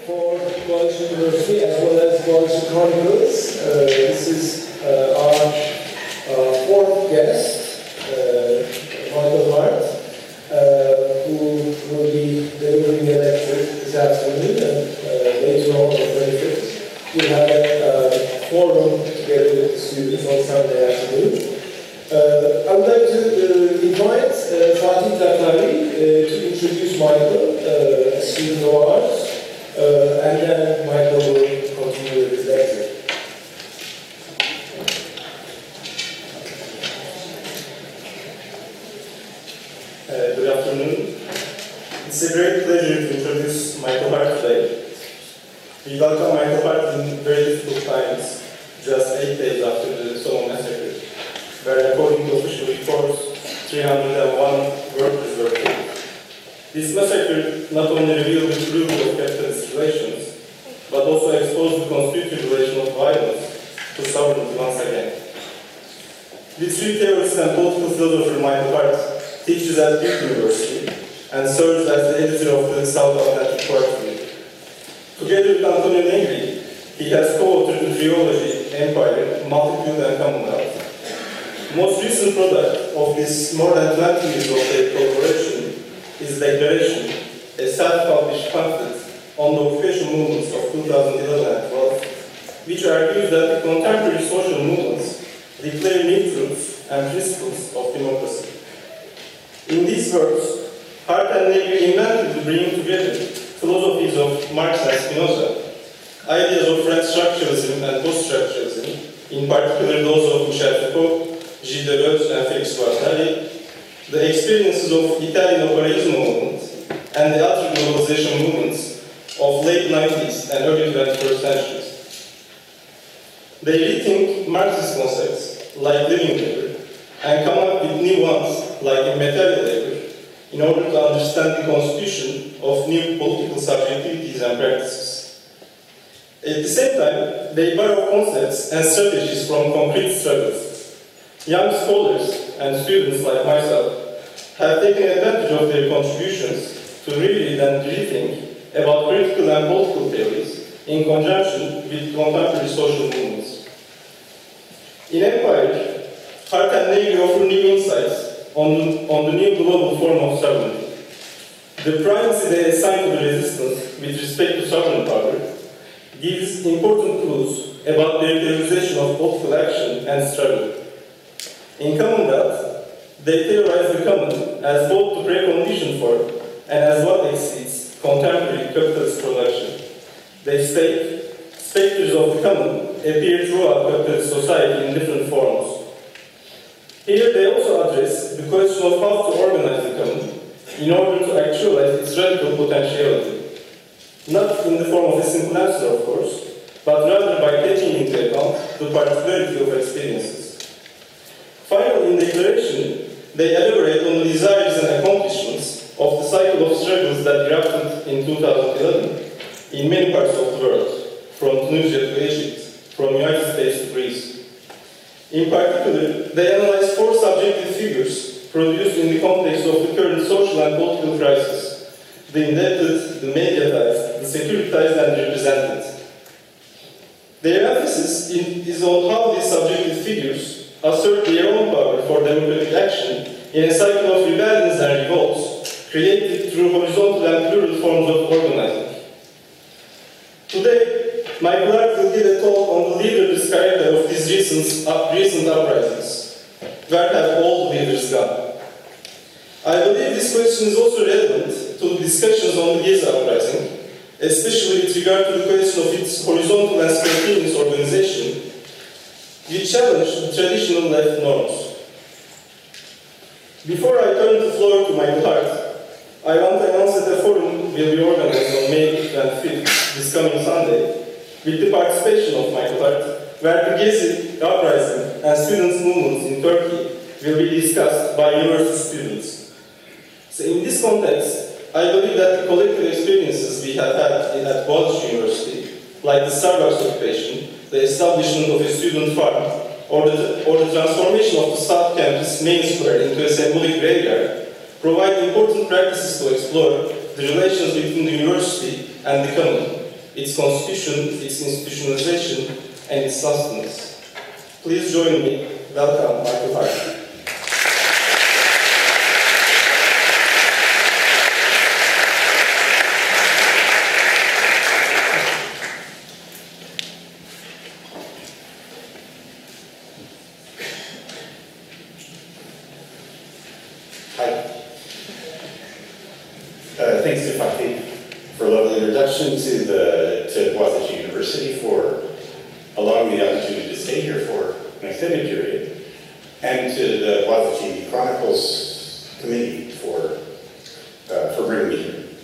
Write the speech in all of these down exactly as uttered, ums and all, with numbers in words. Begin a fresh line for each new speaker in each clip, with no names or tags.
for College University as well as College Chronicles. Uh, this is uh, our uh, fourth guest, uh, Michael Hart, uh, who will be delivering a lecture this afternoon, and uh, later on, on the twenty-fifth, we'll have a uh, forum together with the students on Sunday afternoon. Uh, I would like to uh, invite uh, Fatih Taktari uh, to introduce Michael, uh, a student of ours, uh, and then Michael will continue with his lecture.
Uh, good afternoon. It's a great pleasure to introduce Michael Hart today. We welcome Michael Hart in very difficult times, just eight days after the Solon massacre, where according to official reports, three hundred one workers were killed. This massacre not only revealed the truth of capitalist relations, but also exposed the constitutive relation of violence to sovereignty once again. The three theorist and political philosopher Michael Hart teaches at Duke University and serves as the editor of the South Atlantic Quarterly. Together with Antonio Negri, he has co-authored the trilogy Empire, Multitude and Commonwealth. The most recent product of this more than twenty years of their collaboration is Declaration, a self-published pamphlet on the occupation movements of two thousand eleven and twelve, which argues that the contemporary social movements declare new truths and principles of democracy. In these works, Hart and Negri invented the bringing together philosophies of Marx and Spinoza, ideas of French structuralism and post-structuralism, in particular those of Michel Foucault, Gilles Deleuze and Félix Guattari, the experiences of Italian operaismo movement, and the other globalization movements of late nineties and early twenty-first centuries. They rethink Marxist concepts like living labor and come up with new ones like immaterial labor in order to understand the constitution of new political subjectivities and practices. At the same time, they borrow concepts and strategies from concrete struggles. Young scholars and students like myself have taken advantage of their contributions to reread and rethink about critical and political theories in conjunction with contemporary social movements. In Empire, Hart and Negri offer new insights on the, on the new global form of sovereignty. The primacy they assign to the resistance with respect to sovereign power gives important clues about their theorization of political action and struggle. In Commonwealth, they theorize the common as both the precondition for and as what exceeds contemporary capitalist production. They state, specters of the common appear throughout capitalist society in different forms. Here they also address the question of how to organize the common in order to actualize its radical potentiality. Not in the form of a simple answer, of course, but rather by taking into account the particularity of experiences. Finally, in Declaration, they elaborate on the desires and accomplishments of the cycle of struggles that erupted in two thousand eleven in many parts of the world, from Tunisia to Egypt, from the United States to Greece. In particular, they analyze four subjective figures produced in the context of the current social and political crisis: the indebted, the mediatized, the securitized, and the represented. Their emphasis in, is on how these subjective figures assert their own power for democratic action in a cycle of rebellions and revolts created through horizontal and plural forms of organizing. Today, Michael Hart will give a talk on the leaderless character of these recent, uh, recent uprisings. Where have all the leaders gone? I believe this question is also relevant to the discussions on the Gezi uprising, especially with regard to the question of its horizontal and spontaneous organization, which challenge the traditional left norms. Before I turn the floor to Michael Hart, I want to announce that a forum will be organized on May twenty-fifth, this coming Sunday, with the participation of Michael Hart, where the Gezi uprising and students' movements in Turkey will be discussed by university students. So in this context, I believe that the collective experiences we have had at Boğaziçi University, like the Starbucks occupation, the establishment of a student farm, or the, or the transformation of the South Campus main square into a symbolic graveyard, provide important practices to explore the relations between the university and the common, its constitution, its institutionalization, and its sustenance. Please join me. Welcome, Michael Hart.
Uh, thanks to Fatih for a lovely introduction to the to Boğaziçi University, for allowing me the opportunity to stay here for an extended period, and to the Boğaziçi Chronicles Committee for uh, for bringing me here.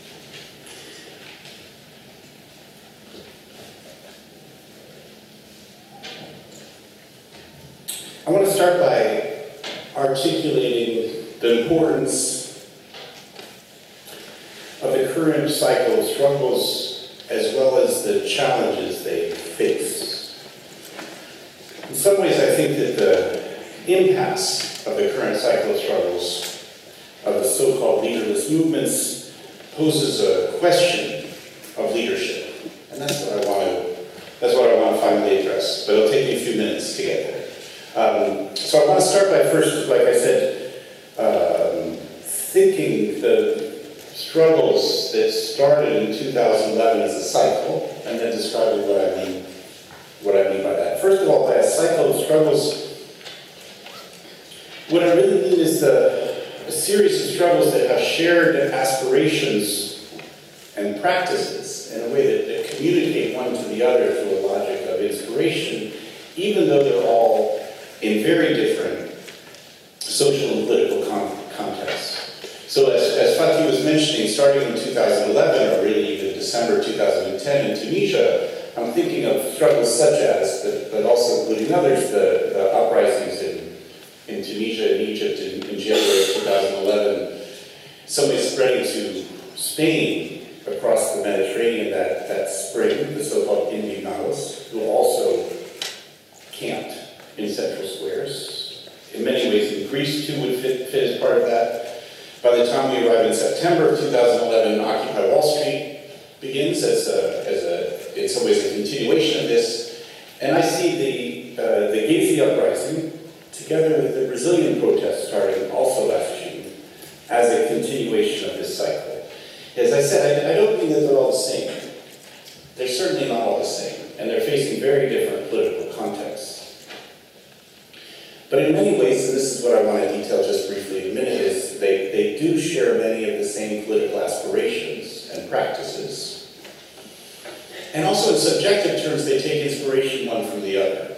I want to start by articulating the importance of the current cycle of struggles, as well as the challenges they face. In some ways, I think that the impasse of the current cycle of struggles, of the so-called leaderless movements, poses a question of leadership. And that's what I want to, that's what I want to finally address. But it'll take me a few minutes to get there. Um, so I want to start by first, like I said, um, thinking the struggles that started in two thousand eleven as a cycle, and then describing what I mean, what I mean by that. First of all, by a cycle of struggles, what I really mean is the, a series of struggles that have shared aspirations and practices in a way that, that communicate one to the other through a logic of inspiration, even though they're all in very different social and political con contexts. So as, as Fatih was mentioning, starting in two thousand eleven, or really even December two thousand ten in Tunisia, I'm thinking of struggles such as, but, but also including others, the, the uprisings in, in Tunisia and Egypt in, in January two thousand eleven, some ways spreading to Spain across the Mediterranean that, that spring, the so-called Indignados, who also camped in central squares. In many ways, in Greece too would fit, fit as part of that. By the time we arrive in September of two thousand eleven, Occupy Wall Street begins as, a, as a, in some ways, a continuation of this. And I see the, uh, the Gezi uprising, together with the Brazilian protests starting also last June, as a continuation of this cycle. As I said, I, I don't mean that they're all the same. They're certainly not all the same, and they're facing very different political contexts. But in many ways, and this is what I want to detail just briefly in a minute, is they, they do share many of the same political aspirations and practices. And also in subjective terms, they take inspiration one from the other.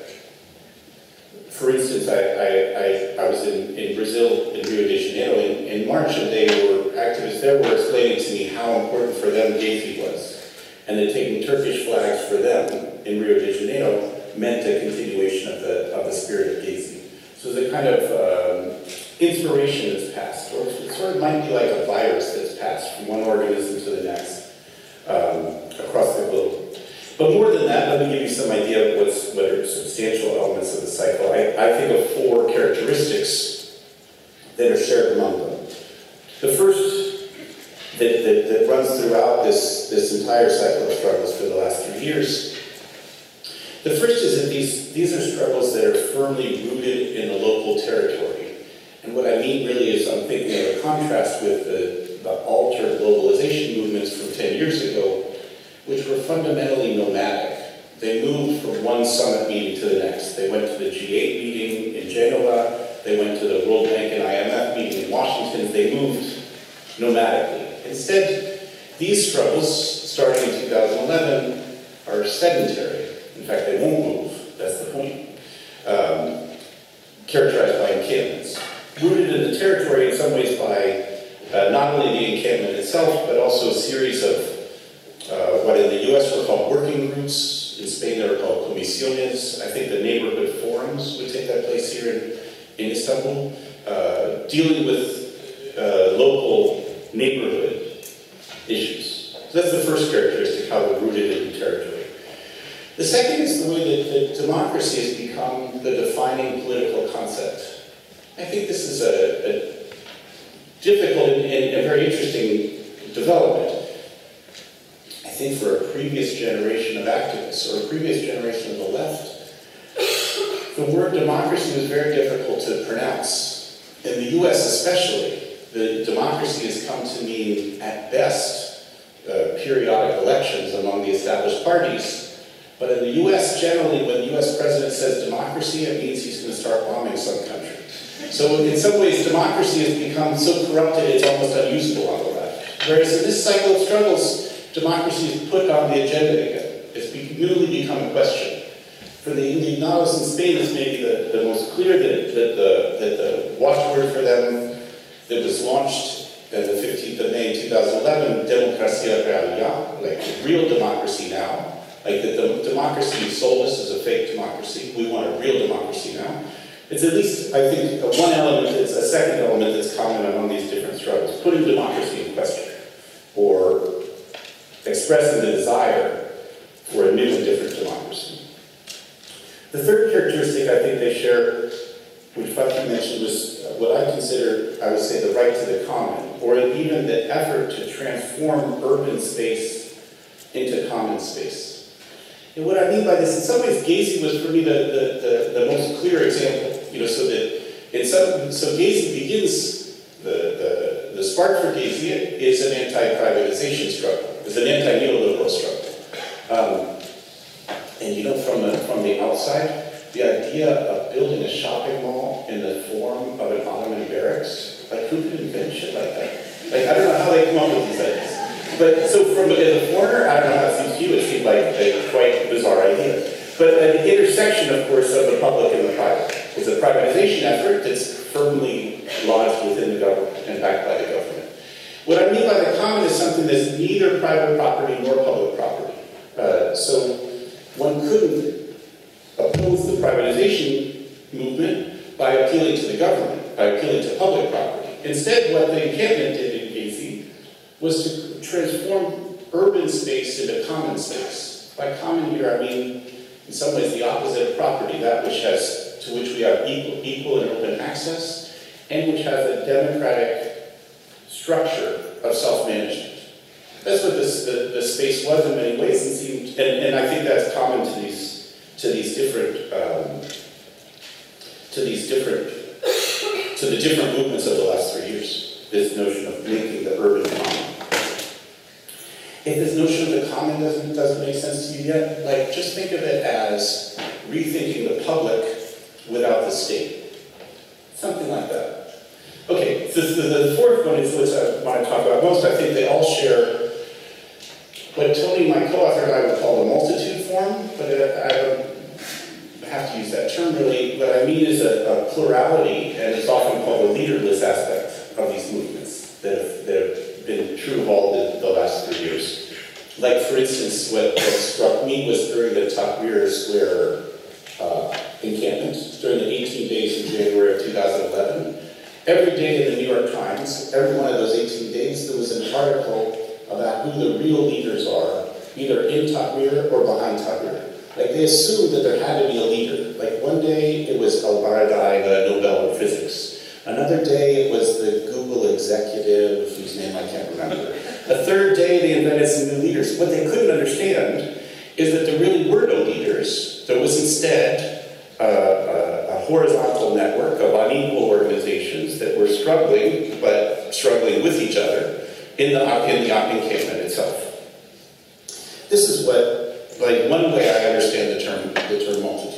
For instance, I, I, I, I was in, in Brazil, in Rio de Janeiro, in, in March, and they were, activists there were explaining to me how important for them Gezi was, and that taking Turkish flags for them in Rio de Janeiro meant a continuation of the, of the spirit of Gezi. So it's a kind of um, inspiration that's passed, or it sort of might be like a virus that's passed from one organism to the next um, across the globe. But more than that, let me give you some idea of what's, what are substantial elements of the cycle. I, I think of four characteristics that are shared among them. The first that, that, that runs throughout this, this entire cycle of struggles for the last three years. The first is that these, these are struggles that are firmly rooted in the local territory. And what I mean really is I'm thinking of a contrast with the, the altered globalization movements from ten years ago, which were fundamentally nomadic. They moved from one summit meeting to the next. They went to the G eight meeting in Genoa, they went to the World Bank and I M F meeting in Washington. They moved nomadically. Instead, these struggles, starting in two thousand eleven, are sedentary. In fact, they won't move, that's the point. Um, characterized by encampments. Rooted in the territory in some ways by uh, not only the encampment itself, but also a series of uh, what in the U S were called working groups. In Spain they were called comisiones. I think the neighborhood forums would take that place here in, in Istanbul, uh, dealing with uh, local neighborhood issues. So that's the first characteristic, how they're rooted in the territory. The second is the way that, that democracy has become the defining political concept. I think this is a, a difficult and, and a very interesting development. I think for a previous generation of activists or a previous generation of the left, the word democracy was very difficult to pronounce. In the U S especially, the democracy has come to mean, at best, uh, periodic elections among the established parties. But in the U S generally, when the U S president says democracy, it means he's going to start bombing some country. So in some ways, democracy has become so corrupted it's almost unusable on the left. Whereas in this cycle of struggles, democracy is put on the agenda again. It's be newly become a question. For the Indignados in Spain, it's maybe the, the most clear that, that, the, that the watchword for them that was launched on the fifteenth of May two thousand eleven, Democracia Real Ya, like real democracy now. Like that the democracy sold us as a fake democracy. We want a real democracy now. It's at least, I think, one element, it's a second element that's common among these different struggles. Putting democracy in question, or expressing the desire for a new and different democracy. The third characteristic I think they share, which Fatih mentioned, was what I consider, I would say, the right to the common, or even the effort to transform urban space into common space. And what I mean by this, in some ways, Gezi was for me the, the, the, the most clear example. You know, so that in some, so Gezi begins, the, the, the spark for Gezi is an anti-privatization struggle, is an anti-neoliberal struggle. Um, and you know, from the, from the outside, the idea of building a shopping mall in the form of an Ottoman barracks, like who could invent shit like that? Like, I don't know how they come up with these ideas. But so from as a foreigner, I don't know how it seems to you, it seemed like a quite bizarre idea. But at the intersection, of course, of the public and the private is a privatization effort that's firmly lodged within the government and backed by the government. What I mean by the common is something that's neither private property nor public property. Uh, so one couldn't oppose the privatization movement by appealing to the government, by appealing to public property. Instead, what the encampment did in Gezi was to transform urban space into common space. By common here, I mean, in some ways, the opposite of property, that which has, to which we have equal, equal and open access, and which has a democratic structure of self-management. That's what this, the, the space was in many ways, and seemed, and, and I think that's common to these, to these different, um, to these different, to the different movements of the last three years. This notion of making the urban common. If this notion of the common doesn't, doesn't make sense to you yet, like, just think of it as rethinking the public without the state. Something like that. Okay, so the, the fourth one is what I want to talk about most. I think they all share what Tony, my co-author, and I would call a multitude form, but I don't have to use that term really. What I mean is a, a plurality, and it's often called a leaderless aspect of these movements that have, that have been true of all the, the last three years. Like, for instance, what, what struck me was during the Tahrir Square uh, encampment, during the eighteen days in January of two thousand eleven, every day in the New York Times, every one of those eighteen days, there was an article about who the real leaders are, either in Tahrir or behind Tahrir. Like, they assumed that there had to be a leader. Like, one day it was Al-Baradei, the Nobel in physics. Another day it was the Google executive, whose name I can't remember. A third day they invented some new leaders. What they couldn't understand is that there really were no leaders. There was instead uh, a, a horizontal network of unequal organizations that were struggling, but struggling with each other in the, in the encampment itself. This is what, like, one way I understand the term, the term multitude.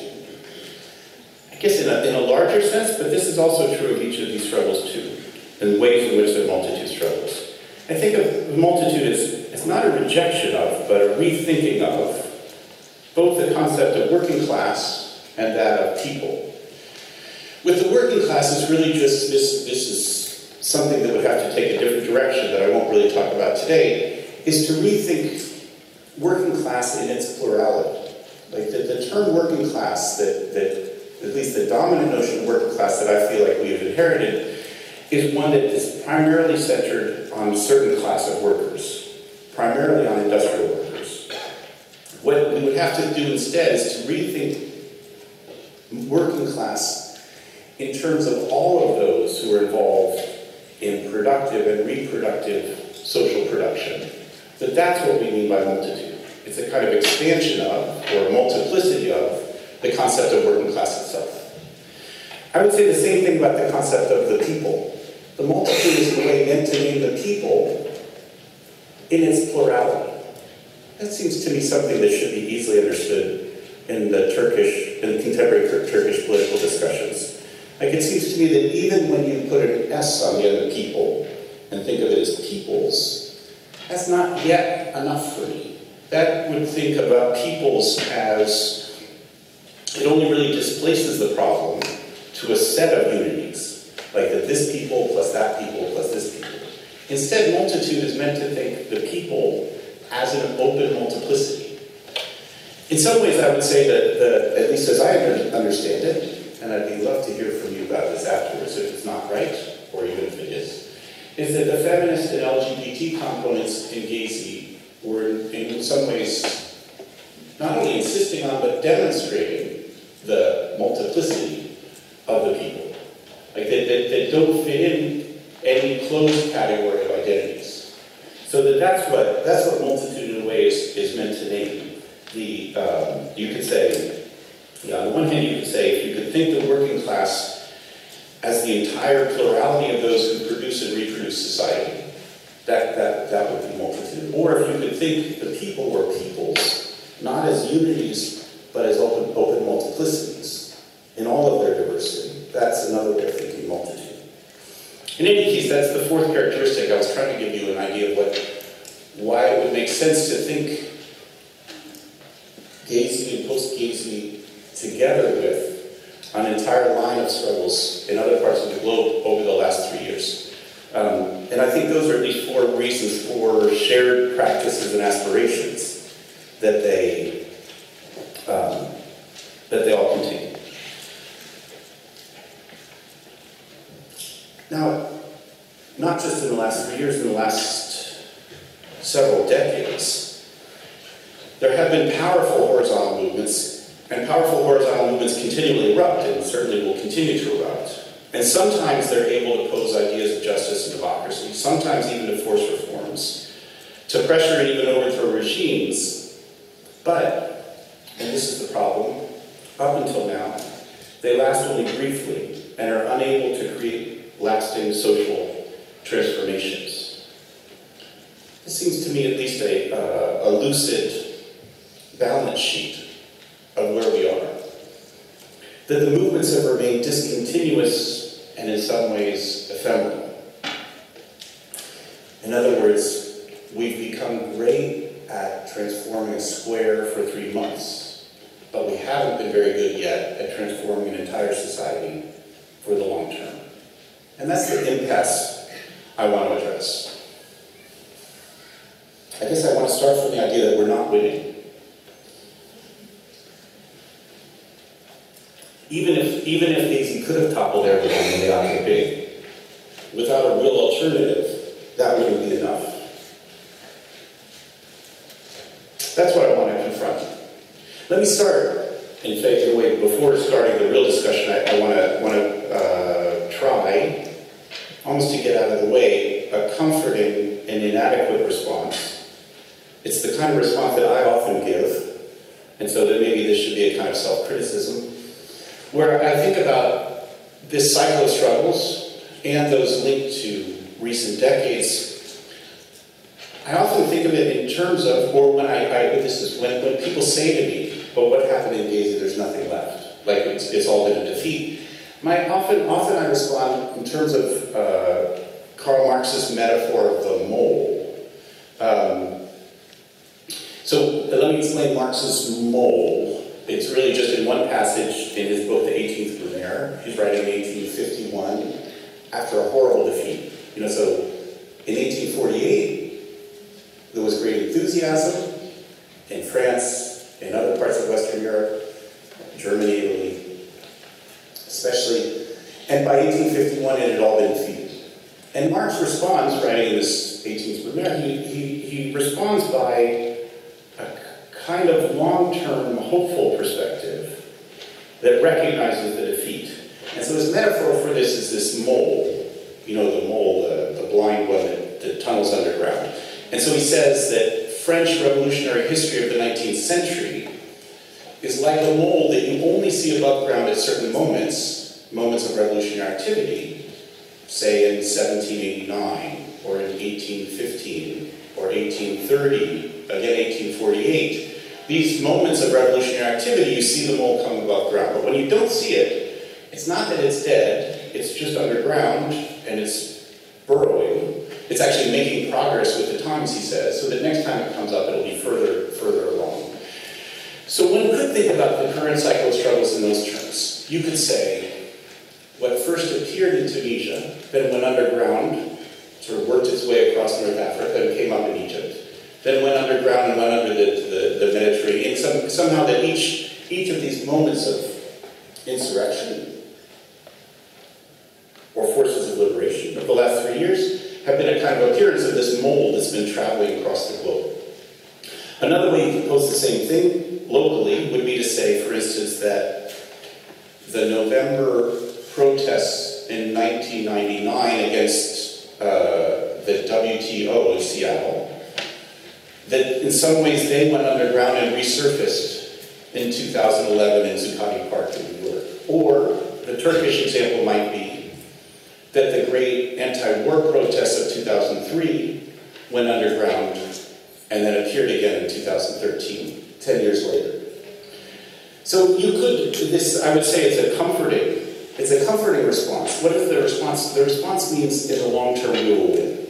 I guess in a, in a larger sense, but this is also true of each of these struggles too, in ways in which they're multitude struggles. I think of multitude as, it's not a rejection of, but a rethinking of both the concept of working class and that of people. With the working class, it's really just, this, this is something that would have to take a different direction that I won't really talk about today, is to rethink working class in its plurality. Like the, the term working class that, that at least the dominant notion of working class that I feel like we have inherited, is one that is primarily centered on a certain class of workers, primarily on industrial workers. What we would have to do instead is to rethink working class in terms of all of those who are involved in productive and reproductive social production, that that's what we mean by multitude. It's a kind of expansion of, or multiplicity of, the concept of working class itself. I would say the same thing about the concept of the people. The multitude is the way meant to name the people in its plurality. That seems to me something that should be easily understood in the Turkish, in the contemporary Turkish political discussions. Like, it seems to me that even when you put an S on the end of people and think of it as peoples, that's not yet enough for me. That would think about peoples as, it only really displaces the problem to a set of unities, like that this people plus that people plus this people. Instead, multitude is meant to think the people as an open multiplicity. In some ways, I would say that, the, at least as I understand it, and I'd be love to hear from you about this afterwards if it's not right, or even if it is, is that the feminist and L G B T components in Gezi were in some ways not only insisting on, but demonstrating the multiplicity of the people. Like, that, that, that don't fit in any closed category of identities. So that that's what, that's what multitude in a way is, is meant to name. The, um, you could say, yeah, on the one hand you could say, if you could think the working class as the entire plurality of those who produce and reproduce society, that, that, that would be multitude. Or if you could think the people or peoples, not as unities, but as open, open multiplicities in all of their diversity, that's another way of thinking multitude. In any case, that's the fourth characteristic. I was trying to give you an idea of what, why it would make sense to think Gezi and post-Gezi together with an entire line of struggles in other parts of the globe over the last three years. Um, and I think those are at least four reasons for shared practices and aspirations that they, um, that they all contain. Now, not just in the last three years, in the last several decades, there have been powerful horizontal movements, and powerful horizontal movements continually erupt, and certainly will continue to erupt. And sometimes they're able to pose ideas of justice and democracy, sometimes even to force reforms, to pressure and even overthrow regimes. But, and this is the problem, up until now, they last only briefly and are unable to create lasting social transformations. This seems to me at least a, uh, a lucid balance sheet of where we are. That the movements have remained discontinuous and in some ways ephemeral. In other words, we've become great at transforming a square for three months, but we haven't been very good yet at transforming an entire society for the long term. And that's the impasse I want to address. I guess I want to start from the idea that we're not winning. Even if, even if Gezi could have toppled everyone in the occupation, without a real alternative, that wouldn't be enough. That's what I want to confront. Let me start, in fact, in a way, before starting the real discussion, I, I want to, want to uh, try, almost to get out of the way, a comforting and inadequate response. It's the kind of response that I often give, and so that maybe this should be a kind of self-criticism, where I think about this cycle of struggles and those linked to recent decades. I often think of it in terms of, or when I, I this is when, when people say to me, but what happened in Gezi, there's nothing left. Like it's, it's all been a defeat. My, often, often I respond in terms of uh, Karl Marx's metaphor of the mole. Um, so let me explain Marx's mole. It's really just in one passage in his book, The eighteenth Brumaire. He's writing in eighteen fifty-one after a horrible defeat. You know, so in eighteen forty-eight, there was great enthusiasm in France, in other parts of Western Europe, Germany, Italy, especially. And by eighteen fifty-one, it had all been defeated. And Marx responds, writing in this eighteenth Brumaire, he, he, he responds by a kind of long-term, hopeful perspective that recognizes the defeat. And so his metaphor for this is this mole, you know, the mole, the, the blind one that, that tunnels underground. And so he says that French revolutionary history of the nineteenth century is like a mold that you only see above ground at certain moments, moments of revolutionary activity, say in seventeen eighty-nine, or in eighteen fifteen, or eighteen thirty, again eighteen forty-eight. These moments of revolutionary activity, you see the mold come above ground. But when you don't see it, it's not that it's dead, it's just underground, and it's burrowing. It's actually making progress with the times, he says, so that next time it comes up, it'll be further, further along. So one could think about the current cycle of struggles in those terms. You could say, what first appeared in Tunisia, then went underground, sort of worked its way across North Africa and came up in Egypt, then went underground and went under the, the, the Mediterranean. Some, somehow that each, each of these moments of insurrection or forces of liberation of the last three years have been a kind of appearance of this mold that's been traveling across the globe. Another way you could pose the same thing locally would be to say, for instance, that the November protests in nineteen ninety-nine against uh, the W T O in Seattle, that in some ways they went underground and resurfaced in two thousand eleven in Zuccotti Park in New York. Or the Turkish example might be that the great anti-war protests of two thousand three went underground and then appeared again in two thousand thirteen, ten years later. So you could, this, I would say it's a comforting, it's a comforting response. What is the response? The response means in the long term we will win.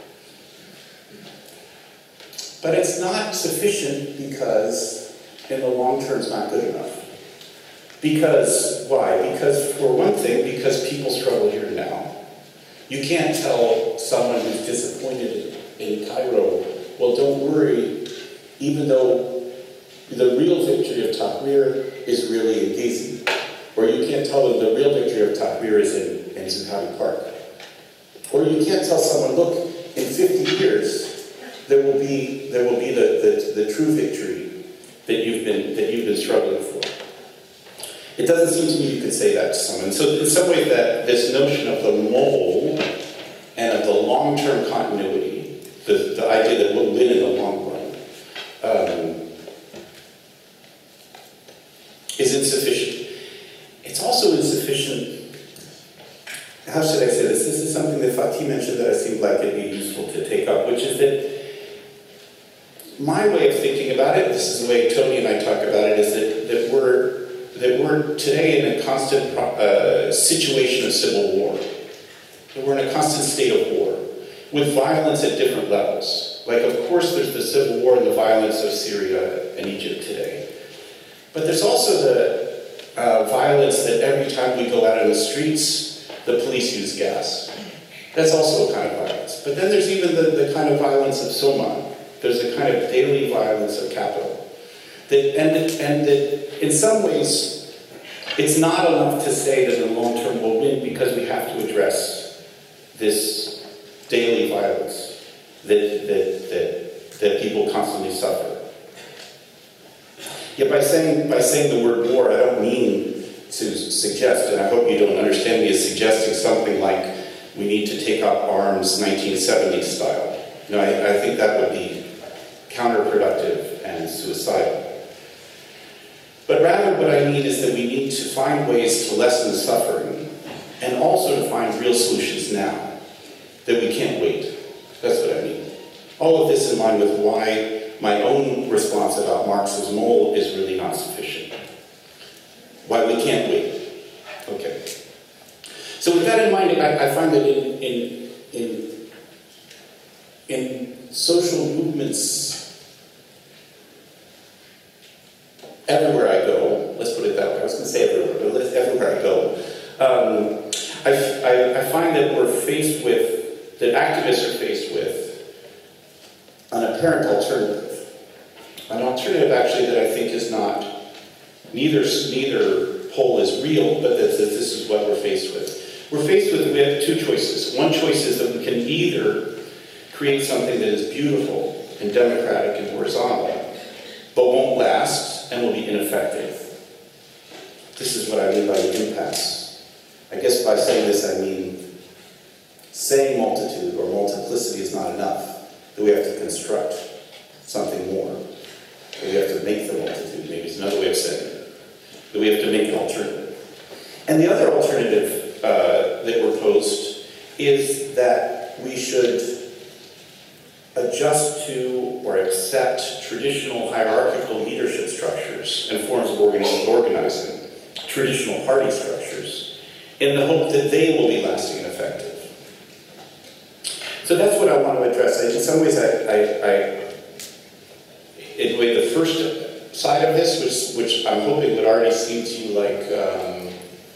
But it's not sufficient because in the long term it's not good enough. Because, why? Because, for one thing, because people struggle here now. You can't tell someone who's disappointed in Cairo, well, don't worry, even though the real victory of Tahrir is really in Gezi. Or you can't tell them the real victory of Tahrir is in, in Zuccotti Park. Or you can't tell someone, look, in fifty years, there will be, there will be the, the, the true victory that you've been, that you've been struggling for. It doesn't seem to me you could say that to someone. So in some way that this notion of the mold and of the long-term continuity, the, the idea that we'll win in the long run, um, is insufficient. It's also insufficient, how should I say this? This is something that Fatih mentioned that I seemed like it'd be useful to take up, which is that my way of thinking about it, this is the way Tony and I talk about it, is that, that we're that we're today in a constant uh, situation of civil war. That we're in a constant state of war, with violence at different levels. Like, of course, there's the civil war and the violence of Syria and Egypt today. But there's also the uh, violence that every time we go out in the streets, the police use gas. That's also a kind of violence. But then there's even the, the kind of violence of Soma. There's a kind of daily violence of capital. That, and, and that in some ways, it's not enough to say that in the long term we'll win, because we have to address this daily violence that, that, that, that people constantly suffer. Yet by saying, by saying the word war, I don't mean to suggest, and I hope you don't understand me as suggesting something like we need to take up arms nineteen seventies style. No, I, I think that would be counterproductive and suicidal. But rather what I mean is that we need to find ways to lessen the suffering and also to find real solutions now, that we can't wait. That's what I mean. All of this in line with why my own response about Marx's mold is really not sufficient. Why we can't wait. Okay. So with that in mind, I, I find that in, in, in, in social movements everywhere I go, let's put it that way, I was going to say everywhere, but everywhere I go, um, I, I, I find that we're faced with, that activists are faced with an apparent alternative. An alternative actually that I think is not, neither, neither pole is real, but that, that this is what we're faced with. We're faced with, we have two choices. One choice is that we can either create something that is beautiful and democratic and horizontal, but won't last, and will be ineffective. This is what I mean by the impasse. I guess by saying this I mean saying multitude or multiplicity is not enough. Do we have to construct something more? Do we have to make the multitude? Maybe it's another way of saying it. Do we have to make an alternative? And the other alternative uh, that were posed is that we should adjust to or accept traditional hierarchical leadership structures and forms of organizing, traditional party structures, in the hope that they will be lasting and effective. So that's what I want to address. In some ways, I, I, I in a way, the first side of this, which, which I'm hoping would already seem to you like um,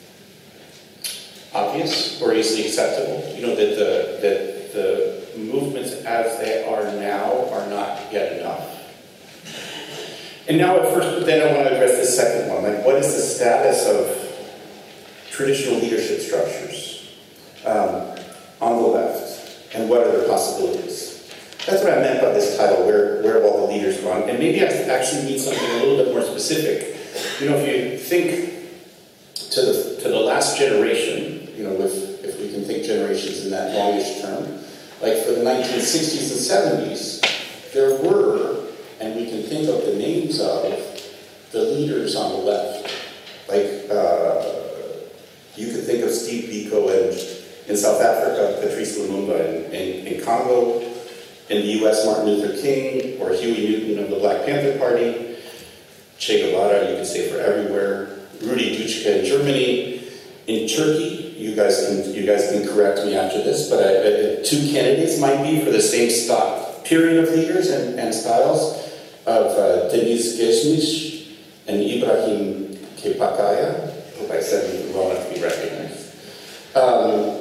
obvious or easily acceptable. You know, that the, that the movements as they are now are not yet enough. And now at first, but then I want to address the second one. Like, what is the status of traditional leadership structures um, on the left? And what are their possibilities? That's what I meant by this title, where, where have all the leaders gone? And maybe I actually need something a little bit more specific. You know, if you think to the, to the last generation, you know, if, if we can think generations in that longish term, like for the nineteen sixties and seventies, there were, and we can think of the names of, the leaders on the left. Like, uh, you could think of Steve Biko and in South Africa, Patrice Lumumba, in, in, in Congo, in the U S, Martin Luther King, or Huey Newton of the Black Panther Party, Che Guevara, you could say for everywhere, Rudi Dutschke in Germany, in Turkey, you guys can, you guys can correct me after this, but I, I, two candidates might be for the same stock, period of leaders and, and styles of uh, Deniz Gezmiş and Ibrahim Kepakaya. I hope I said it well enough to be recognized. Um,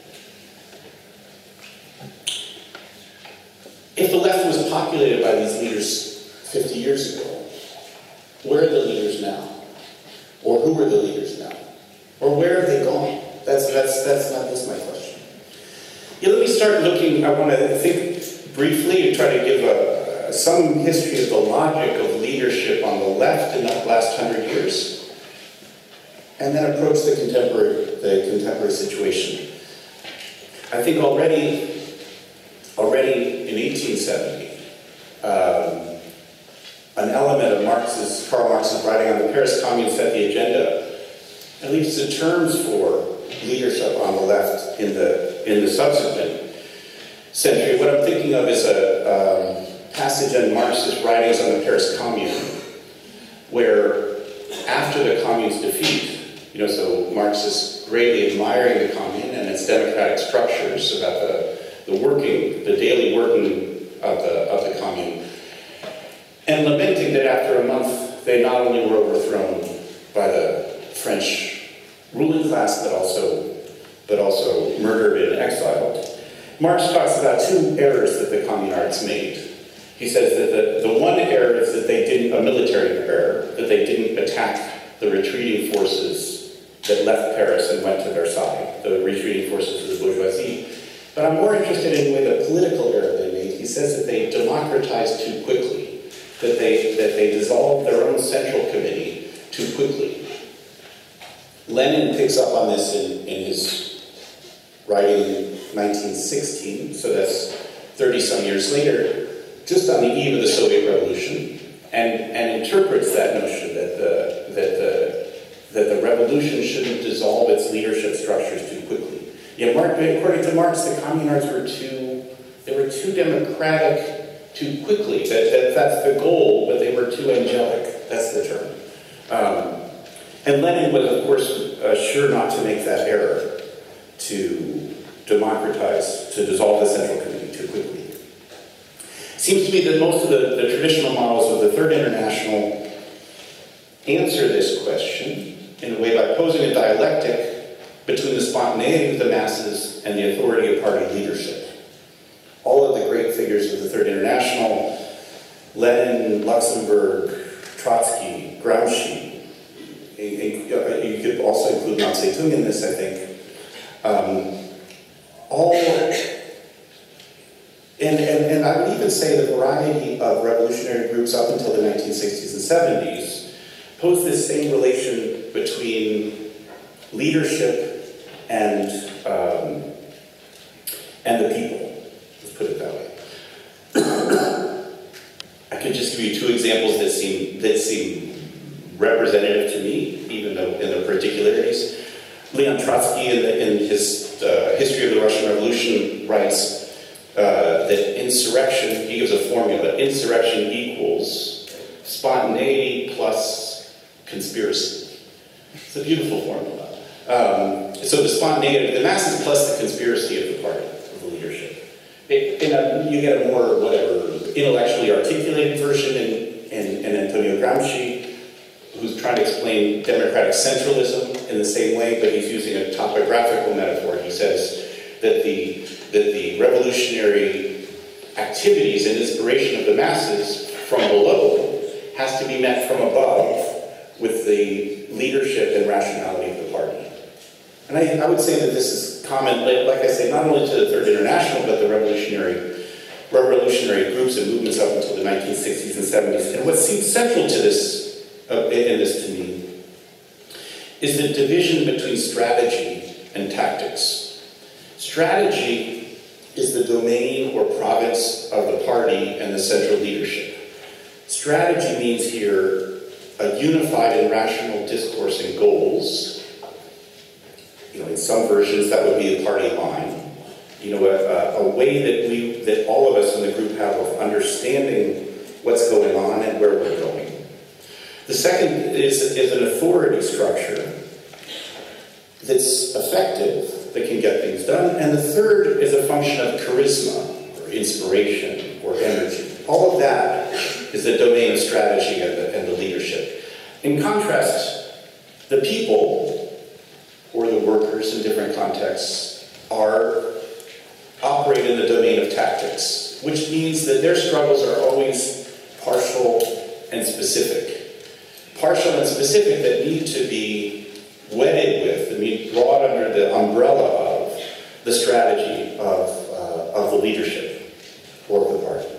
If the left was populated by these leaders fifty years ago, where are the leaders now? Or who are the leaders now? Or where have they gone? That's, that's, that's not just my question. Yeah, let me start looking, I want to think briefly and try to give a, some history of the logic of leadership on the left in the last hundred years, and then approach the contemporary, the contemporary situation. I think already Already in eighteen seventy, um, an element of Marx's, Karl Marx's writing on the Paris Commune set the agenda, at least the terms for leadership on the left in the in the subsequent century. What I'm thinking of is a um, passage in Marx's writings on the Paris Commune, where after the Commune's defeat, you know, so Marx is greatly admiring the Commune and its democratic structures about the the working, the daily working of the, of the Commune, and lamenting that after a month they not only were overthrown by the French ruling class, but also, but also murdered and exiled. Marx talks about two errors that the communards made. He says that the, the one error is that they didn't, a military error, that they didn't attack the retreating forces that left Paris and went to Versailles, the retreating forces of the bourgeoisie. But I'm more interested in the way the political error they made. He says that they democratized too quickly, that they, that they dissolved their own central committee too quickly. Lenin picks up on this in, in his writing in nineteen sixteen, so that's thirty-some years later, just on the eve of the Soviet Revolution, and, and interprets that notion that the, that, the, that the revolution shouldn't dissolve its leadership structures too quickly. Yeah, Mark, according to Marx, the communards were too, they were too democratic too quickly. That, that, that's the goal, but they were too angelic. That's the term. Um, and Lenin was, of course, uh, sure not to make that error, to democratize, to dissolve the Central Committee too quickly. It seems to me that most of the, the traditional models of the Third International answer this question in a way by posing a dialectic between the spontaneity of the masses and the authority of party leadership. All of the great figures of the Third International, Lenin, Luxemburg, Trotsky, Gramsci, you could also include Mao Zedong in this, I think, um, all, and, and, and I would even say the variety of revolutionary groups up until the nineteen sixties and seventies pose this same relation between leadership and um, and the people. Let's put it that way. that seem that seem representative to me, even though in the particularities. Leon Trotsky, in, the, in his uh, History of the Russian Revolution, writes uh, that insurrection, he gives a formula, insurrection equals spontaneity plus conspiracy. It's a beautiful formula. Um, so the spontaneity, the masses plus the conspiracy of the party, of the leadership. It, in a, you get a more, whatever, intellectually articulated version in, in, in Antonio Gramsci, who's trying to explain democratic centralism in the same way, but he's using a topographical metaphor. He says that the, that the revolutionary activities and inspiration of the masses from below has to be met from above with the leadership and rationality of the party. And I, I would say that this is common, like I say, not only to the Third International, but the revolutionary, revolutionary groups and movements up until the nineteen sixties and seventies. And what seems central to this Uh, in this to me, is the division between strategy and tactics. Strategy is the domain or province of the party and the central leadership. Strategy means here a unified and rational discourse and goals. You know, in some versions that would be a party line. You know, a, a way that we, that all of us in the group have of understanding what's going on and where we're going. The second is, is an authority structure that's effective, that can get things done. And the third is a function of charisma, or inspiration, or energy. All of that is the domain of strategy and the, and the leadership. In contrast, the people, or the workers in different contexts, are operate in the domain of tactics, which means that their struggles are always partial and specific. Partial and specific that need to be wedded with, that need brought under the umbrella of the strategy of, uh, of the leadership or of the party.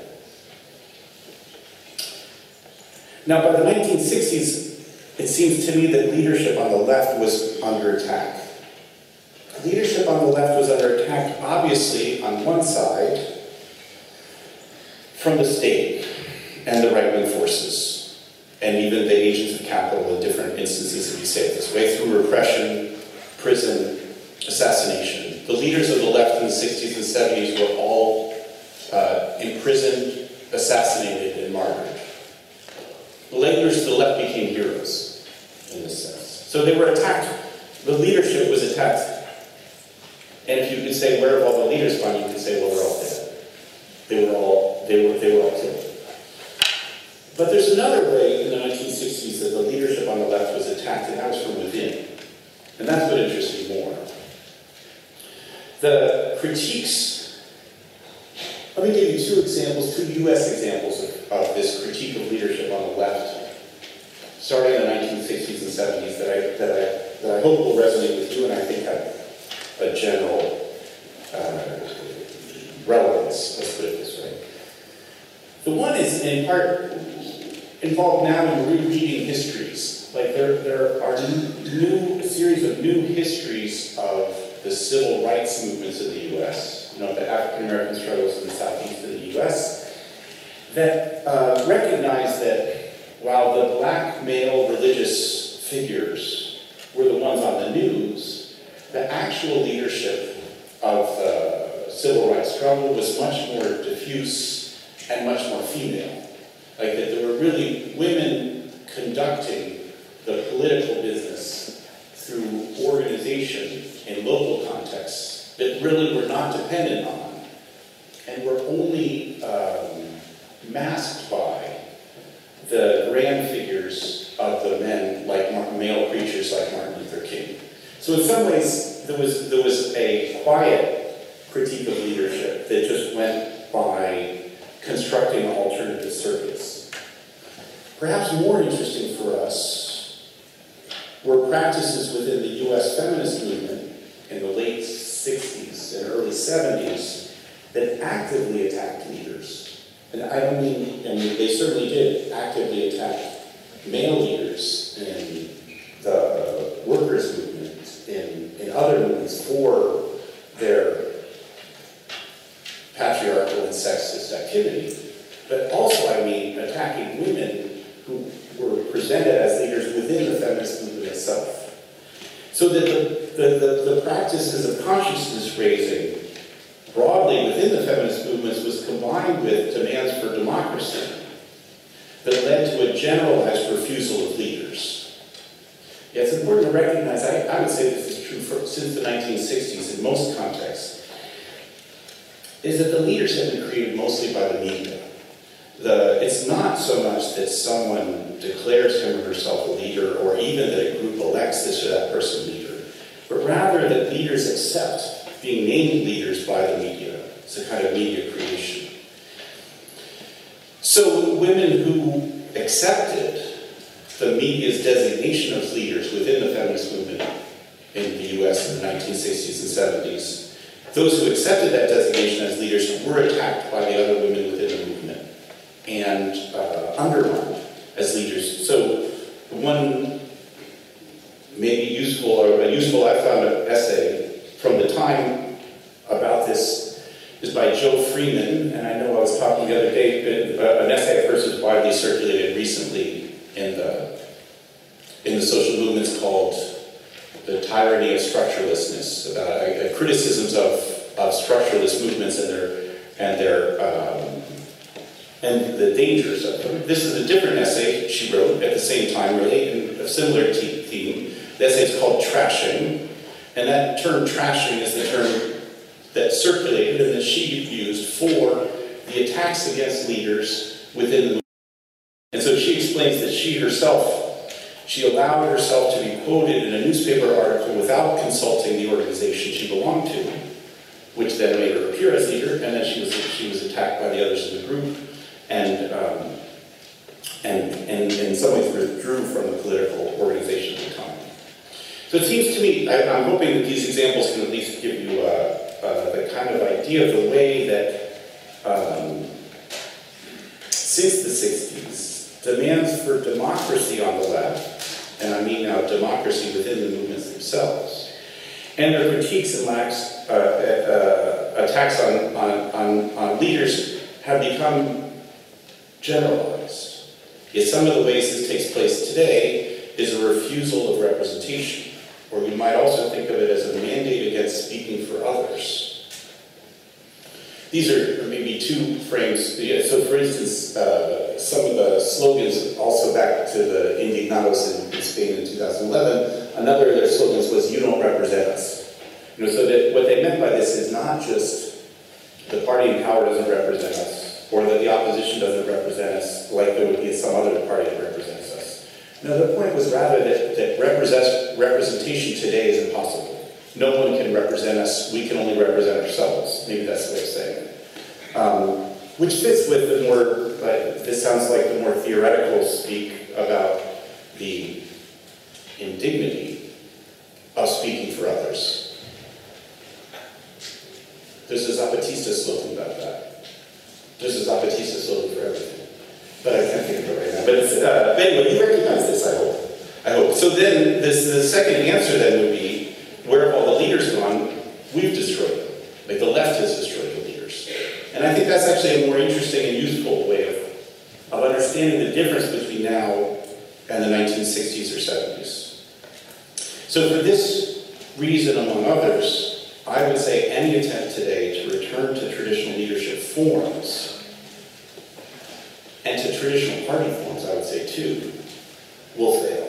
Now, by the nineteen sixties, it seems to me that leadership on the left was under attack. Leadership on the left was under attack, obviously, on one side, from the state and the right-wing forces, and even the agents of capital in different instances, if you say it this way, through repression, prison, assassination. The leaders of the left in the sixties and seventies were all uh, imprisoned, assassinated, and martyred. The leaders of the left became heroes, in this sense. So they were attacked. The leadership was attacked. And if you could say, where have all the leaders gone? You could say, well, they're all dead. They were all, they were, they were all killed. But there's another way in the nineteen sixties that the leadership on the left was attacked, and that was from within. And that's what interests me more. The critiques, let me give you two examples, two U S examples of, of this critique of leadership on the left, starting in the nineteen sixties and seventies, that I, that I, that I hope will resonate with you, and I think have a general uh, relevance, let's put it this way. The one is in part involved now in rereading histories. Like there, there are new, a series of new histories of the civil rights movements in the U S, you know, the African American struggles in the southeast of the U S, that uh, recognize that while the black male religious figures were the ones on the news, the actual leadership of the civil rights struggle was much more diffuse and much more female. Like that there were really women conducting the political business through organization in local contexts that really were not dependent on and were only um, masked by the grand figures of the men, like male preachers like Martin Luther King. So in some ways, there was, there was a quiet critique of leadership that just went by constructing alternative circuits. Perhaps more interesting for us were practices within the U S feminist movement in the late sixties and early seventies that actively attacked leaders. And I don't mean, I mean, they certainly did actively attack male leaders in the workers' movement, in, in other movements for their patriarchal and sexist activity. But also, I mean, attacking women presented as leaders within the feminist movement itself. So that the, the, the, the practices of consciousness raising broadly within the feminist movements was combined with demands for democracy that led to a generalized refusal of leaders. Yeah, it's important to recognize, I, I would say this is true for, since the nineteen sixties in most contexts, is that the leaders have been created mostly by the media. The, it's not so much that someone declares him or herself a leader, or even that a group elects this or that person leader, but rather that leaders accept being named leaders by the media. It's a kind of media creation. So women who accepted the media's designation of leaders within the feminist movement in the U S in the nineteen sixties and seventies, those who accepted that designation as leaders were attacked by the other women within the movement and uh, undermined as leaders. So one maybe useful, or a useful, I found an essay from the time about this is by Joe Freeman, and I know I was talking the other day, uh, an essay of hers was widely circulated recently in the, in the social movements called The Tyranny of Structurelessness, about uh, criticisms of, of structuralist movements and their, and their um, and the dangers of them. This is a different essay she wrote at the same time, really, and a similar te- theme. The essay is called Trashing, and that term trashing is the term that circulated and that she used for the attacks against leaders within the movement. And so she explains that she herself, she allowed herself to be quoted in a newspaper article without consulting the organization she belonged to, which then made her appear as leader, and then she was she was attacked by the others in the group, and um, and, and in some ways withdrew from the political organization at the time. So it seems to me, I, I'm hoping that these examples can at least give you uh, uh, the kind of idea of the way that um, since the sixties, demands for democracy on the left, and I mean now democracy within the movements themselves, and their critiques and lacks, uh, uh, attacks on, on, on, on leaders have become generalized. Yet some of the ways this takes place today is a refusal of representation, or we might also think of it as a mandate against speaking for others. These are maybe two frames. So for instance, uh, some of the slogans, also back to the Indignados in, in Spain in two thousand eleven, another of their slogans was, "You don't represent us." You know, so that what they meant by this is not just the party in power doesn't represent us, or that the opposition doesn't represent us like there would be some other party that represents us. No, the point was rather that, that represent, representation today is impossible. No one can represent us, we can only represent ourselves. Maybe that's the way of saying it. Um, which fits with the more, uh, this sounds like the more theoretical speak about the indignity of speaking for others. There's a Zapatista slogan about that. There's a Zapatista slogan for everything. But I can't think of it right now. But, it's, uh, but anyway, you recognize this, I hope. I hope. So then, this, the second answer then would be, where have all the leaders gone? We've destroyed them. Like the left has destroyed the leaders. And I think that's actually a more interesting and useful way of, of understanding the difference between now and the nineteen sixties or seventies. So for this reason, among others, I would say any attempt today to return to traditional leadership forms, and to traditional party forms, I would say too, will fail.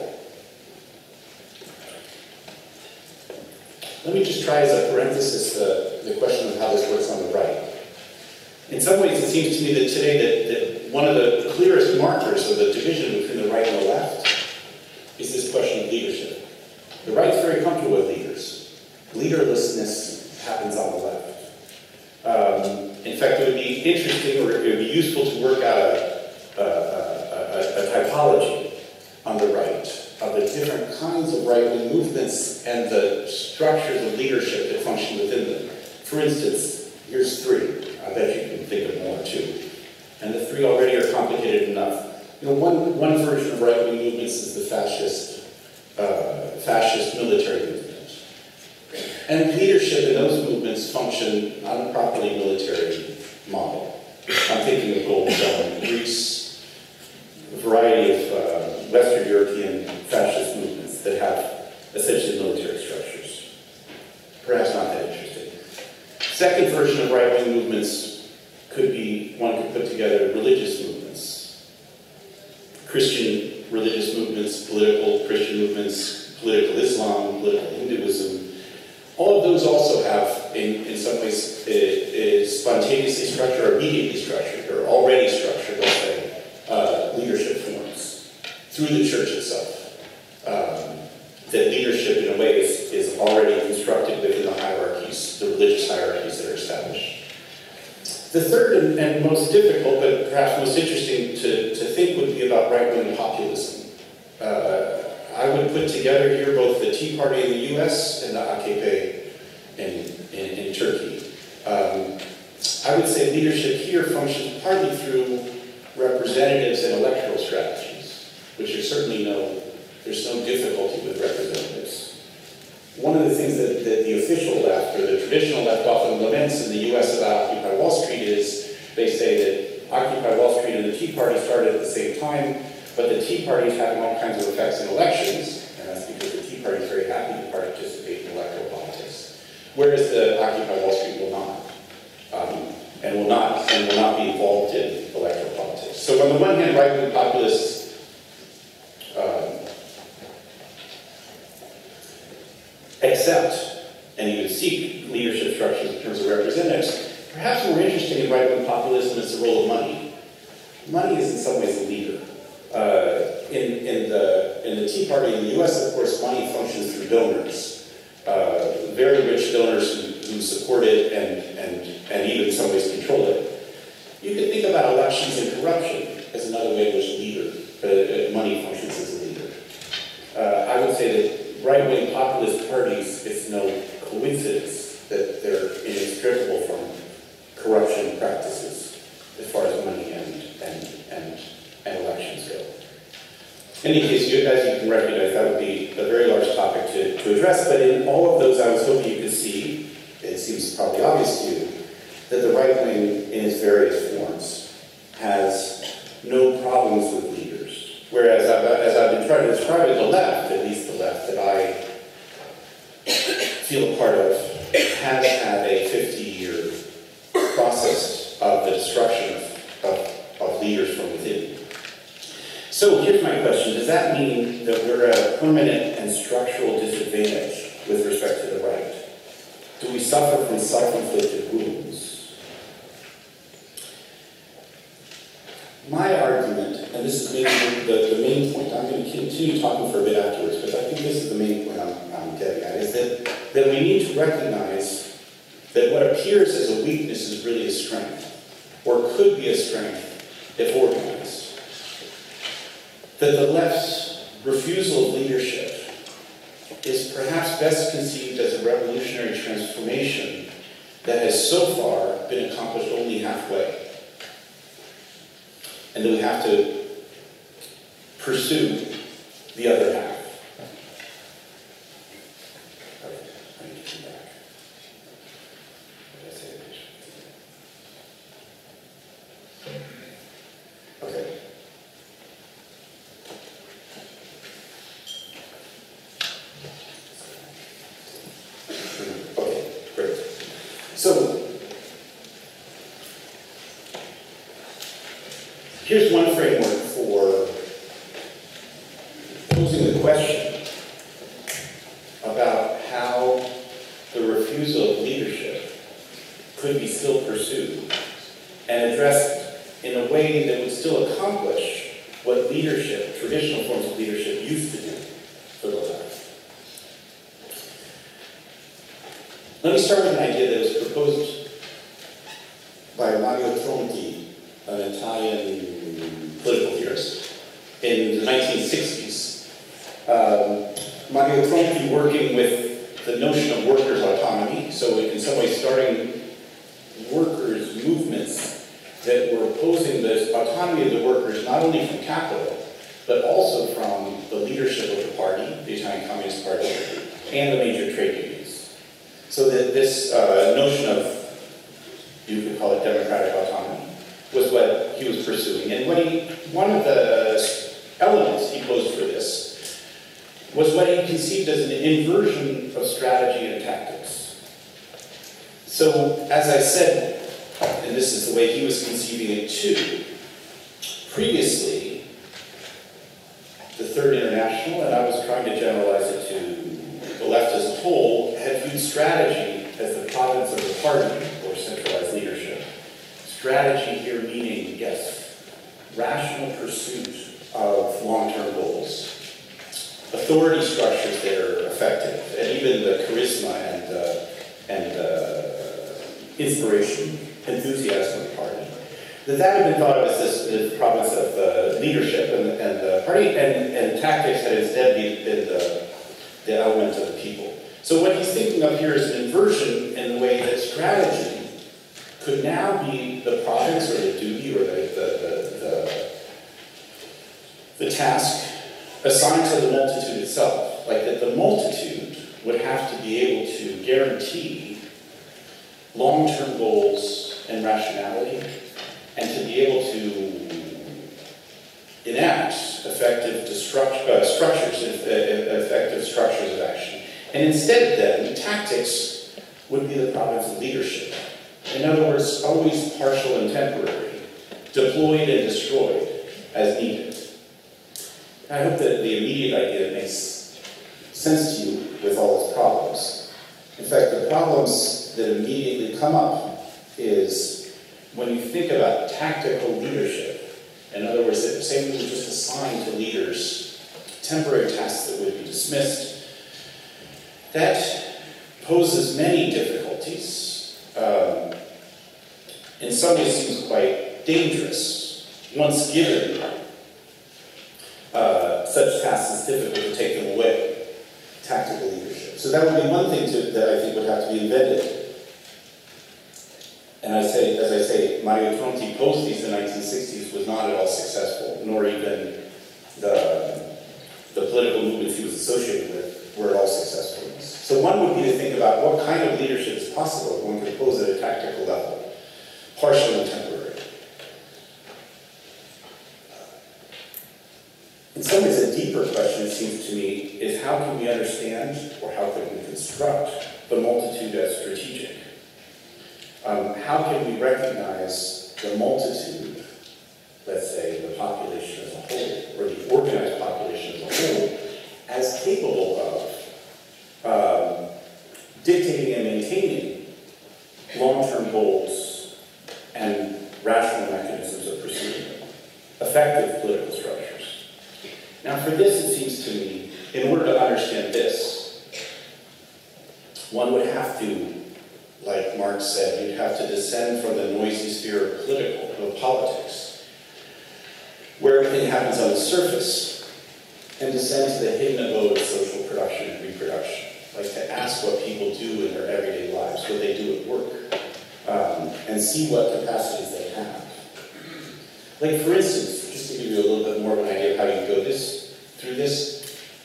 Let me just try as a parenthesis the, the question of how this works on the right. In some ways, it seems to me that today that, that one of the clearest markers of the division between the right and the left is this question of leadership. The right's very comfortable with leaders. Leaderlessness happens on the left. Um, in fact, it would be interesting, or it would be useful to work out a, a, a, a, a typology on the right of the different kinds of right-wing movements and the structures of leadership that function within them. For instance, here's three. I bet you can think of more too. And the three already are complicated enough. You know, one, one version of right-wing movements is the fascist, uh, fascist military movement. And leadership in those movements function on a properly military model. I'm thinking of Golden Dawn in Greece, a variety of uh, Western Christian religious movements, political Christian movements, political Islam, political Hinduism. All of those also have, in, in some ways, it, it spontaneously structured or immediately structured, or already structured, let's say, uh, leadership forms through the church itself. Um, that leadership, in a way, is, is already constructed within the hierarchies, the religious hierarchies that are established. The third and, and most difficult, but perhaps most interesting to, to think would be about right-wing populism. Uh, I would put together here both the Tea Party in the U S and the A K P in, in, in Turkey. Um, I would say leadership here functions partly through representatives and electoral strategies, which are certainly no, there's no difficulty with representatives. One of the things that, that the official left, or the traditional left, often laments in the U S about Occupy Wall Street is they say that Occupy Wall Street and the Tea Party started at the same time, but the Tea Party is having all kinds of effects in elections, and that's because the Tea Party is very happy to participate in electoral politics, whereas the Occupy Wall Street will not, um, and will not, and will not be involved in electoral politics. So on the one hand, right-wing populists um, accept and even seek leadership structures in terms of representatives. Perhaps more interesting in right-wing populism is the role of money. Money is in some ways a leader. Uh, in, in, the, in the Tea Party in the U S, of course, money functions through donors. Uh, very rich donors who, who support it and, and, and even in some ways control it. You could think about elections and corruption as another way in which leader, uh, money functions as a leader. Uh, I would say that right-wing populist parties, it's no coincidence that they're inextricable from corruption practices as far as money and, and, and and elections go. In any case, you, as you can recognize, that would be a very large topic to, to address, but in all of those I was hoping you could see, it seems probably obvious to you, that the right wing in its various forms has no problems with leaders. Whereas, I've, as I've been trying to describe it, the left, at least the left that I feel a part of, has had a fifty-year process of the destruction of, of, of leaders from within. So here's my question. Does that mean that we're at a permanent and structural disadvantage with respect to the right? Do we suffer from self-inflicted wounds? My argument, and this is maybe the, the main point, I'm going to continue talking for a bit afterwards, but I think this is the main point I'm, I'm getting at, is that, that we need to recognize that what appears as a weakness is really a strength, or could be a strength if organized. That the left's refusal of leadership is perhaps best conceived as a revolutionary transformation that has so far been accomplished only halfway. And that we have to pursue the other half. I need to come back. What did I say? Okay. So, here's one framework for posing the question about how the refusal of leadership could be still pursued and addressed in a way that would still accomplish what leadership, traditional forms of leadership, used to do for the left. Let me start with an idea that was proposed by Mario Tronti, an Italian political theorist, in the nineteen sixties. Um, Mario Tronti working with the notion of workers' autonomy, so in some ways starting workers' movements that were opposing the autonomy of the workers not only from capital, but also from the leadership of the party, the Italian Communist Party, and the major trade unions. So that this uh, notion of, you could call it democratic autonomy, was what he was pursuing. And what he, one of the elements he posed for this was what he conceived as an inversion of strategy and tactics. So, as I said, and this is the way he was conceiving it too, previously, rational, and I was trying to generalize it to the left as a whole, had viewed strategy as the province of the party or centralized leadership. Strategy here meaning, yes, rational pursuit of long-term goals. Authority structures that are effective, and even the charisma and, uh, and uh, inspiration, enthusiasm of the party. That that had been thought of as this the province of uh, leadership and, and the party, and, and tactics had instead been, been the, the element of the people. So what he's thinking of here is an inversion in the way that strategy could now be the province or the duty or the, the, the, the, the task assigned to the multitude itself. Like that the multitude would have to be able to guarantee long-term goals and rationality, and to be able to enact effective destruct, uh, structures, uh, effective structures of action. And instead then, tactics would be the province of leadership. In other words, always partial and temporary, deployed and destroyed as needed. I hope that the immediate idea makes sense to you with all its problems. In fact, the problems that immediately come up is when you think about tactical leadership, in other words, that say we would just assign to leaders temporary tasks that would be dismissed, that poses many difficulties. Um, in some ways seems quite dangerous. Once given uh, such tasks, it's difficult to take them away. Tactical leadership. So that would be one thing to, that I think would have to be invented. And I say, as I say, Mario Tronti post these in the nineteen sixties was not at all successful, nor even the, the political movements he was associated with were at all successful. So one would be to think about what kind of leadership is possible if one could pose at a tactical level, partial and temporary. In some ways, a deeper question, it seems to me, is how can we understand, or how can we construct the multitude as strategic? Um, how can we recognize the multitude, let's say the population as a whole, or the organized population as a whole, as capable of um, dictating and maintaining long-term goals and rational mechanisms of pursuing them, effective political structures. Now for this, it seems to me, in order to understand this, one would have to, like Marx said, you'd have to descend from the noisy sphere of political, of politics, where everything happens on the surface, and descend to the hidden abode of social production and reproduction. Like to ask what people do in their everyday lives, what they do at work, um, and see what capacities they have. Like for instance, just to give you a little bit more of an idea of how you go this through this,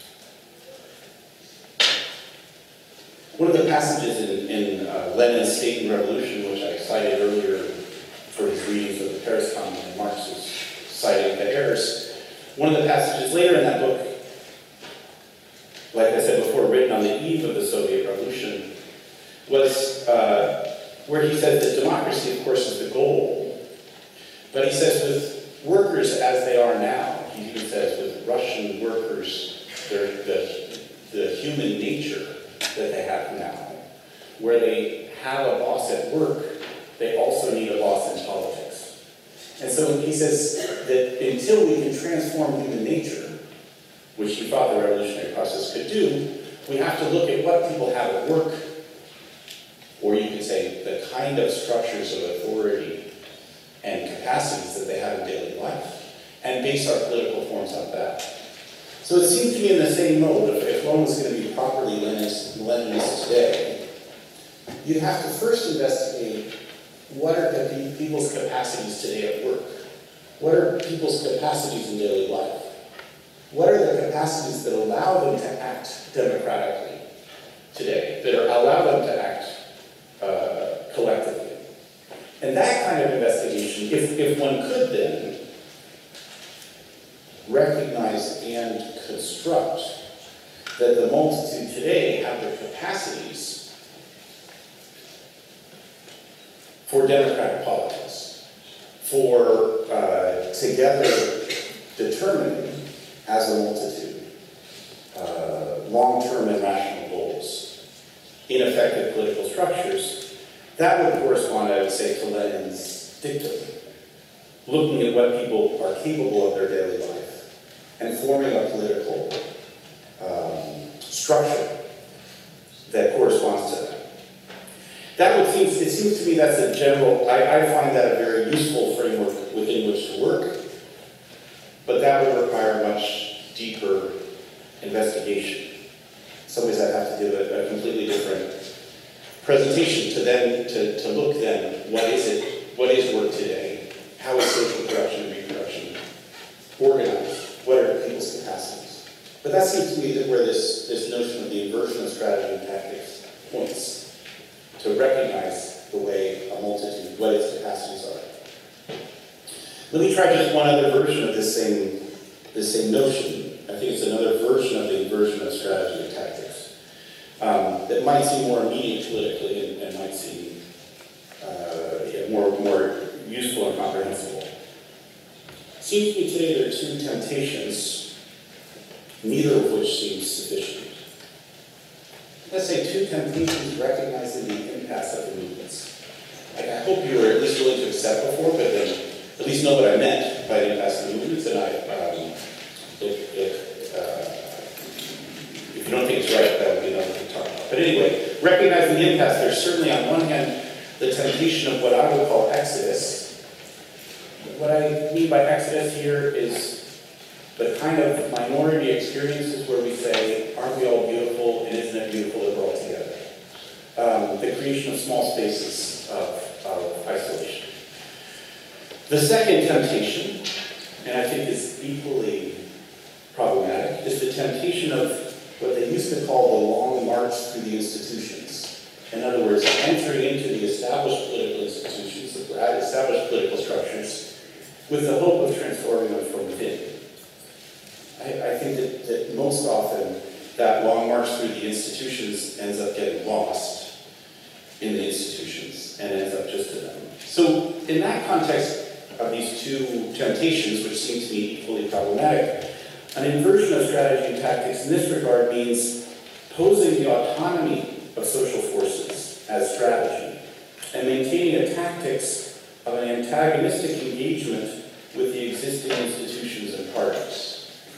one of the passages in, in uh, Lenin's State and Revolution, which I cited earlier for his readings of the Paris Commune and Marx's citing the errors, one of the passages later in that book, like I said before, written on the eve of the Soviet Revolution, was uh, where he says that democracy, of course, is the goal, but he says with workers as they are now, he even says with Russian workers, the, the human nature that they have now, where they have a boss at work, they also need a boss in politics. And so he says that until we can transform human nature, which he thought the revolutionary process could do, we have to look at what people have at work, or you could say the kind of structures of authority and capacities that they have in daily life, and base our political forms on that. So it seems to me in the same mode, if, if one was going to be properly Leninist, Leninist today, you'd have to first investigate what are the people's capacities today at work? What are people's capacities in daily life? What are the capacities that allow them to act democratically today, that are, allow them to act uh, collectively? And that kind of investigation, if, if one could then recognize and construct that the multitude today have the capacities for democratic politics, for uh, together determining as a multitude long-term and rational goals in effective political structures, that would correspond, I would say, to Lenin's dictum, looking at what people are capable of their daily life and forming a political um, structure that corresponds to that. That would seem, it seems to me that's a general, I, I find that a very useful framework within which to work, but that would require a much deeper investigation. In some ways I'd have to do a, a completely different presentation to then, to, to look then, what is it, what is work today? How is social production and reproduction organized? What are people's capacities? But that seems to me that where this, this notion of the inversion of strategy and tactics points, to recognize the way a multitude, what its capacities are. Let me try just one other version of this same, this same notion. I think it's another version of the inversion of strategy and tactics um, that might seem more immediate politically and, and might seem uh, yeah, more, more useful and comprehensible. It seems to me today there are two temptations, neither of which seems sufficient. Let's say two temptations recognizing the impasse of the movements. I, I hope you were at least willing to accept before, but then at least know what I meant by the impasse of the movements, and I, um, if, if, uh, if you don't think it's right, that would be another thing to talk about. But anyway, recognizing the impasse, there's certainly on one hand the temptation of what I would call exodus. What I mean by exodus here is the kind of minority experiences where we say, aren't we all beautiful, and isn't it beautiful that we're all together? Um, the creation of small spaces of, of isolation. The second temptation, and I think is equally problematic, is the temptation of what they used to call the long march through the institutions. In other words, entering into the established political institutions, the established political structures, with the hope of transforming them from within. I, I think that, that most often that long march through the institutions ends up getting lost in the institutions and ends up just to them. So in that context of these two temptations, which seem to me equally problematic, an inversion of strategy and tactics in this regard means posing the autonomy of social forces as strategy and maintaining a tactics of an antagonistic engagement with the existing institutions and parties.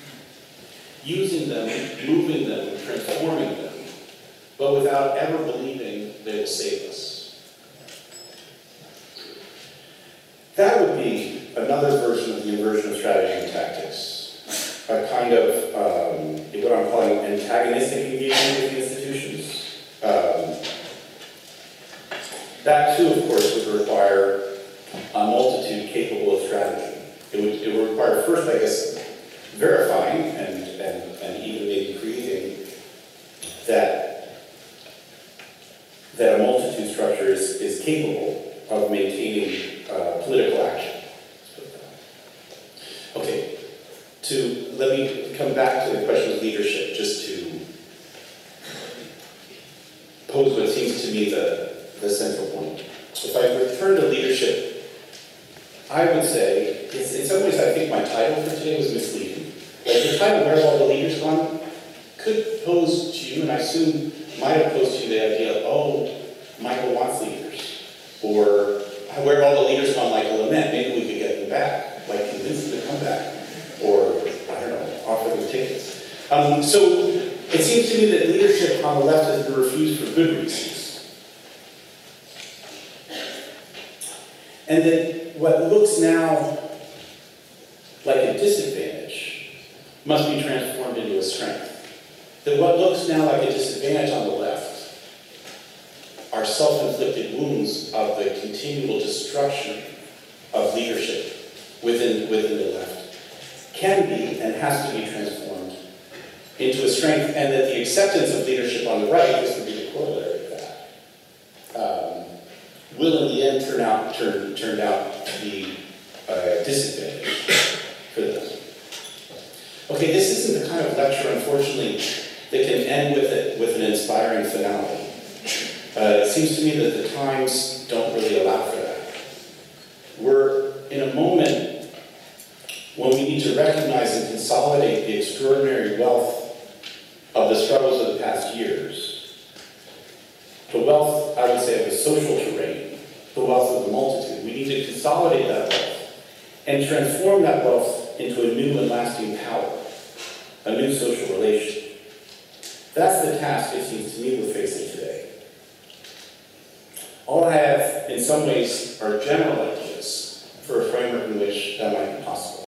Using them, moving them, transforming them, but without ever believing they will save us. That would be another version of the inversion of strategy and tactics. A kind of, um, what I'm calling antagonistic engagement with the institutions. Um, that too, of course, would require a multitude capable of strategy. It would, it would require first, I guess, verifying and, and, and even maybe creating that, that a multitude structure is, is capable of maintaining uh, political action. Okay, to, let me come back to the question of leadership, just to pose what seems to me the, the central point. If I return to leadership, I would say, it's, in some ways I think my title for today was misleading. Like the title, Where Have All the Leaders Gone, could pose to you, and I assume might have posed to you the idea of, oh, Michael wants leaders. Or, where have all the leaders gone like a lament? Maybe we could get them back, like convince them to come back. Or, I don't know, offer them tickets. Um, so, it seems to me that leadership on the left has been refused for good reasons. And that what looks now like a disadvantage must be transformed into a strength. That what looks now like a disadvantage on the left are self-inflicted wounds of the continual destruction of leadership within, within the left can be and has to be transformed into a strength, and that the acceptance of leadership on the right, this would be the corollary of that, um, will in the end turn out, turn, turn out to be a disadvantage for them. Okay, this isn't the kind of lecture, unfortunately, that can end with, it, with an inspiring finale. Uh, it seems to me that the times don't really allow for that. We're in a moment when we need to recognize and consolidate the extraordinary wealth of the struggle wealth, I would say, of the social terrain, the wealth of the multitude. We need to consolidate that wealth and transform that wealth into a new and lasting power, a new social relation. That's the task, it seems to me, we're facing today. All I have, in some ways, are general ideas for a framework